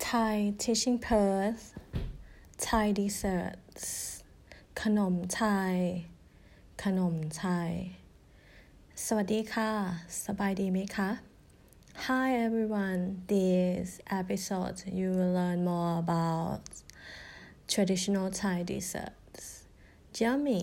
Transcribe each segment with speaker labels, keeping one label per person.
Speaker 1: Thai Teaching Perth Thai Desserts ขนมไทยขนมไทยสวัสดีค่ะสบายดีไหมคะ Hi everyone, this episode you will learn more about traditional Thai desserts. Yummy,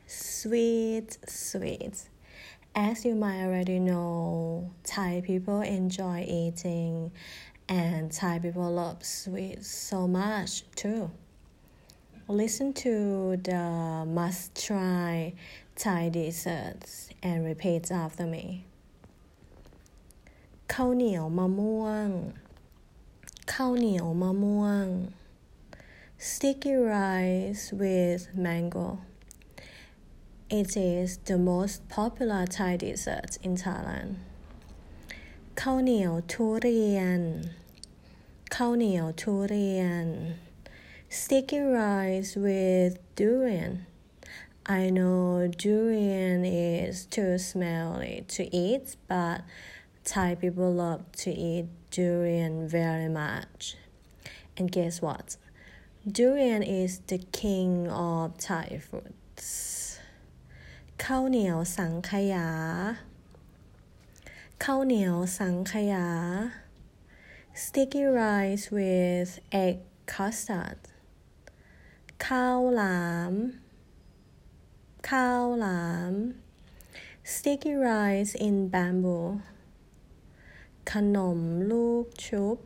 Speaker 1: sweet. As you might already know, Thai people enjoy eating and Thai people love sweets so much too. Listen to the must-try Thai desserts and repeat after me. ข้าวเหนียวมะม่วงข้าวเหนียวมะม่วง Sticky rice with mango. It is the most popular Thai dessert in Thailand. ข้าวเหนียวทุเรียนข้าวเหนียวทุเรียน Sticky rice with durian. I know durian is too smelly to eat, but Thai people love to eat durian very much. And guess what? Durian is the king of Thai foods. ข้าวเหนียวสังขยาข้าวเหนียวสังขยา Sticky rice with egg custard. ข้าวหลามข้าวหลาม Sticky rice in bamboo. ขนมลูกชุบ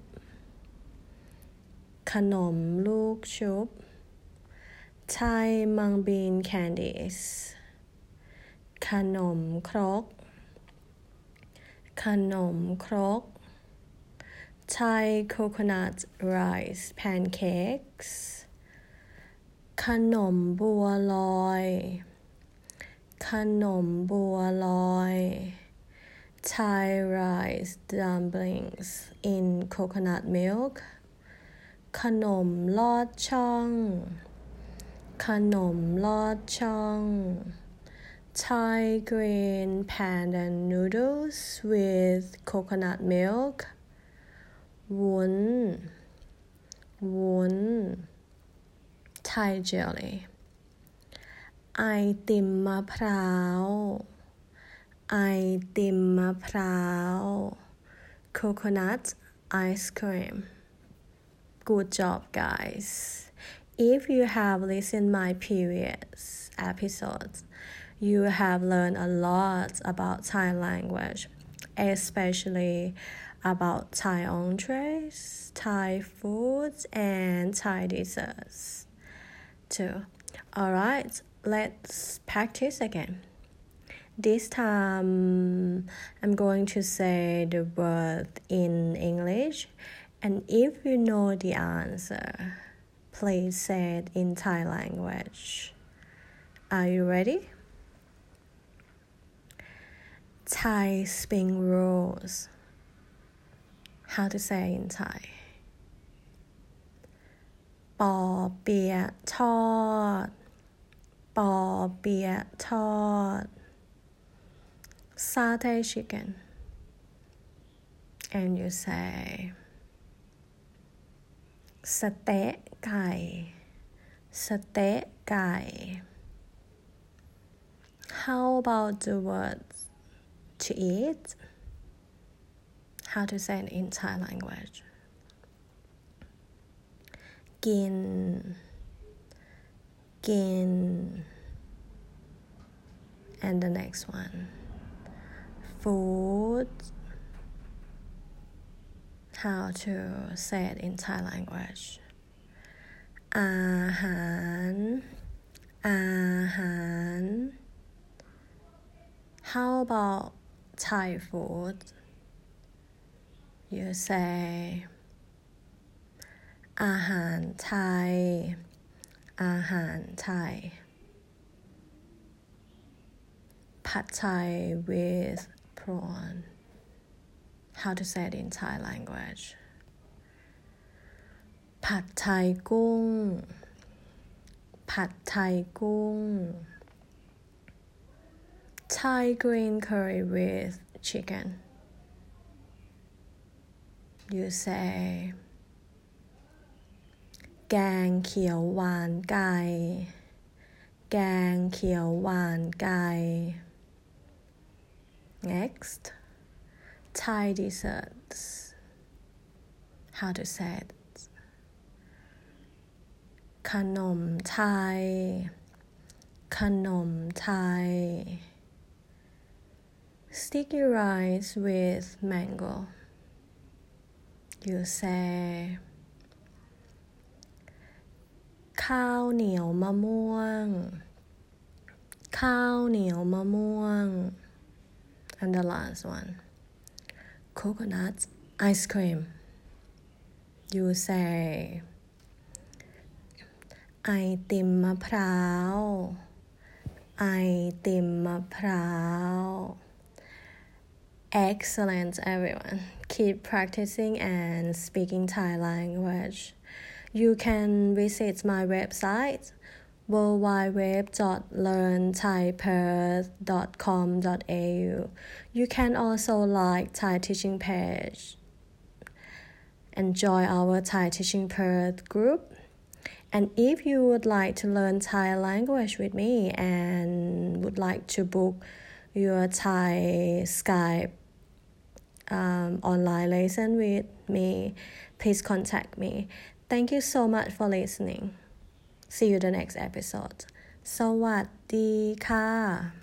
Speaker 1: ขนมลูกชุบ Thai mung bean candies. ขนมครกขนมครก Thai coconut rice pancakes. ขนมบัวลอยขนมบัวลอย Thai rice dumplings in coconut milk. ขนมลอดช่องขนมลอดช่อง Thai green pandan noodles with coconut milk. วุ้นวุ้น Thai jelly. ไอติมมะพร้าวไอติมมะพร้าว Coconut ice cream. Good job, guys. If you have listened my previous episodes, you have learned a lot about Thai language, especially about Thai entrees, Thai foods, and Thai desserts too. Alright, let's practice again. This time, I'm going to say the word in English, and if you know the answer, please say it in Thai language. Are you ready? Thai spring rolls. How to say in Thai? ปอเปี๊ยะทอดปอเปี๊ยะทอด Satay chicken. And you say สเต๊ะไก่สเต๊ะไก่ How about the word to eat? How to say it in Thai language? กินกิน and the next one food. How to say it in Thai language? อาหารอาหาร How about Thai food? You say อาหารไทยอาหารไทย Pad Thai with prawn. How to say it in Thai language? ผัดไทยกุ้งผัดไทยกุ้ง Thai green curry with chicken. You say แกงเขียวหวานไก่แกงเขียวหวานไก่ next Thai desserts how to say it ขนมไทยขนมไทย sticky rice with mango you say ข้าวเหนียวมะม่วงข้าวเหนียวมะม่วง and the last one coconut ice cream you say ไอติมมะพร้าวไอติมมะพร้าว excellent everyone keep practicing and speaking Thai language you can visit my website www.learnthaiperth.com.au you can also like Thai teaching page and join our Thai teaching Perth group and if you would like to learn Thai language with me and would like to book your Thai Skype online lesson with me please contact me thank you so much for listening see you the next episode สวัสดีค่ะ